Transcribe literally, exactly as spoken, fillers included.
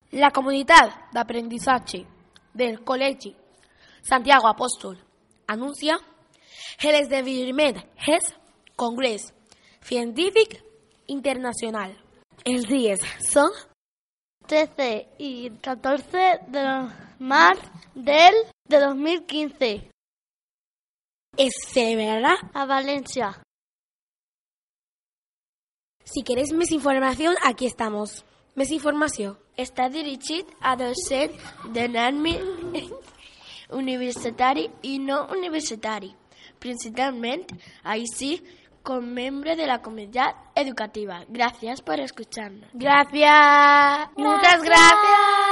La comunitat d'aprendizaje del Col·legi Santiago Apóstol anuncia el esdeveniment és Congrés Científic Internacional. Els dies són trece y catorce de marzo del de dos mil quince. Es celebrarà a Valencia. Si queréis més informació, aquí estamos. Més informació. Està dirigit a docents de l'àmbit universitari i no universitari, principalment així com membre de la comunitat educativa. Gracias por escucharnos. Gracias. Muchas gracias.